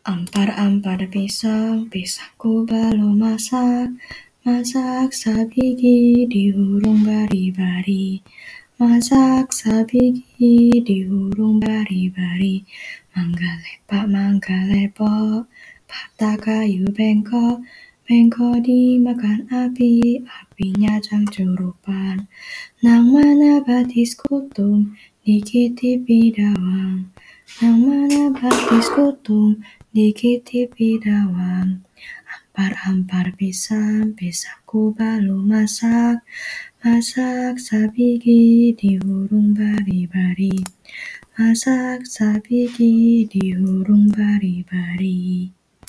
Ampar-ampar pisang, pisangku belum masak. Masak sabigi dihurung bari-bari. Masak sabigi dihurung bari-bari. Mangga lepak, mangga lepok, patah kayu bengkok. Bengkok dimakan api, apinya cangcurupan. Nang mana batis kutung, dikitipi dawang. Nang mana batis kutung, dikitipi dawang. Ampar-ampar pisang, pisangku belum masak. Masak sabigi dihurung bari-bari. Masak sabigi dihurung bari-bari.